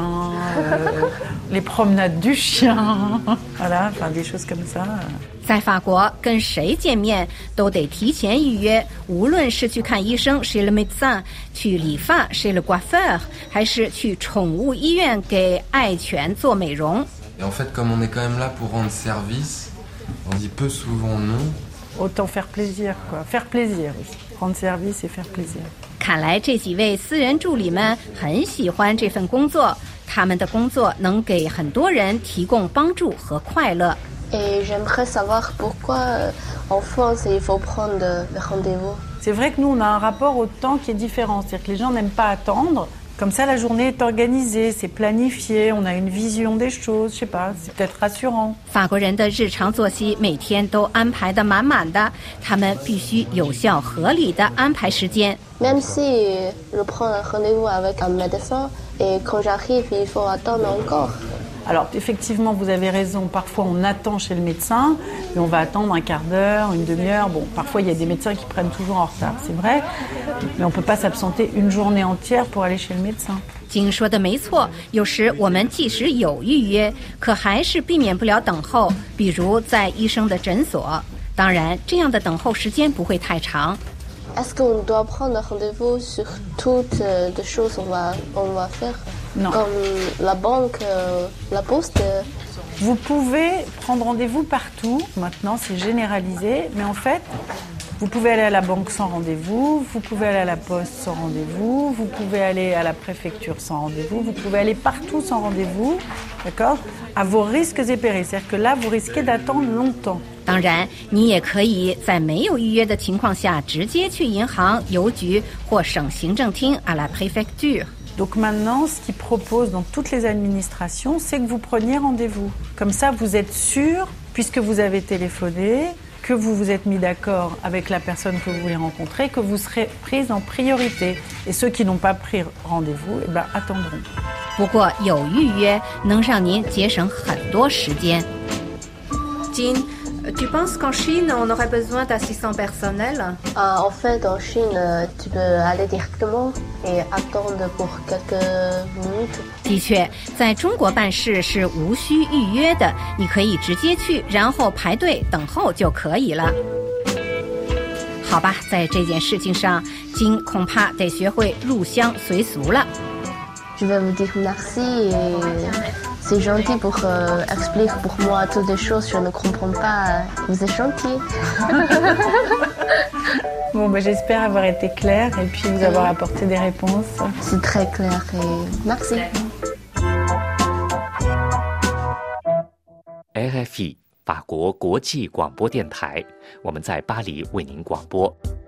les promenades du chien. Voilà, enfin des choses comme ça. 在法国，跟谁见面都得提前预约，无论是去看医生 chez le médecin， 去理发 chez le coiffeur， 还是去宠物医院给爱犬做美容。 Et en fait, comme on est quand même là pour rendre service, on dit peu souvent non. Autant faire plaisir, quoi. Faire plaisir aussi. Rendre service et faire plaisir. 看来这几位私人助理们很喜欢这份工作，他们的工作能给很多人提供帮助和快乐。 Et j'aimerais savoir pourquoi en France il faut prendre le rendez-vous. C'est vrai que nous on a un rapport au temps qui est différent, c'est-à-dire que les gens n'aiment pas attendre. Comme ça, la journée est organisée, c'est planifié, on a une vision des choses, je sais pas, c'est peut-être rassurant. 法国人的日常作息每天都安排得满满的，他们必须有效合理的安排时间。 Même si je prends un rendez-vous avec un médecin et quand j'arrive, il faut attendre encore. Alors effectivement, vous avez raison, parfois on attend chez le médecin et on va attendre un quart d'heure, une demi-heure. Bon, parfois il y a des médecins qui prennent toujours en retard, c'est vrai, mais on ne peut pas s'absenter une journée entière pour aller chez le médecin. 金说的没错，有时我们即使有预约，可还是避免不了等候，比如在医生的诊所。当然，这样的等候时间不会太长。 Est-ce qu'on doit prendre rendez-vous sur toutes les choses qu'on va faire? Non. Comme la banque, la poste? Vous pouvez prendre rendez-vous partout, maintenant c'est généralisé, mais en fait, vous pouvez aller à la banque sans rendez-vous, vous pouvez aller à la poste sans rendez-vous, vous pouvez aller à la préfecture sans rendez-vous, vous pouvez aller partout sans rendez-vous, d'accord? À vos risques et périls, c'est-à-dire que là, vous risquez d'attendre longtemps. 当然，你也可以在没有预约的情况下，直接去银行、邮局或省行政厅 à la préfecture。 Donc maintenant, ce qu'ils proposent dans toutes les administrations, c'est que vous preniez rendez-vous. Comme ça, vous êtes sûr, puisque vous avez téléphoné, que vous vous êtes mis d'accord avec la personne que vous voulez rencontrer, que vous serez prise en priorité. Et ceux qui n'ont pas pris rendez-vous, eh ben, attendront. 不过有预约能让您节省很多时间。 金 Tu penses qu'en Chine, on aurait besoin d'assistants personnels? En fait, en Chine, tu peux aller directement et attendre pour quelques minutes. 的确，在中国办事是无需预约的，你可以直接去，然后排队等候就可以了。好吧，在这件事情上，金恐怕得学会入乡随俗了。 Je vais vous dire merci et c'est gentil pour expliquer pour moi toutes les choses je ne comprends pas. Vous êtes gentil. Bon, j'espère avoir été claire et puis vous avoir apporté des réponses. C'est très clair et merci. RFI 法国国际广播电台，我们在巴黎为您广播。